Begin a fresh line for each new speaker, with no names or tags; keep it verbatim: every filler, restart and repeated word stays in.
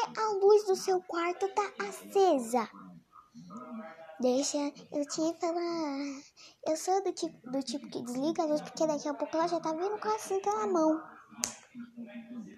a luz do seu quarto tá acesa? Deixa eu te falar. Eu sou do tipo, do tipo que desliga a luz, porque daqui a pouco ela já tá vindo com a cinta na mão.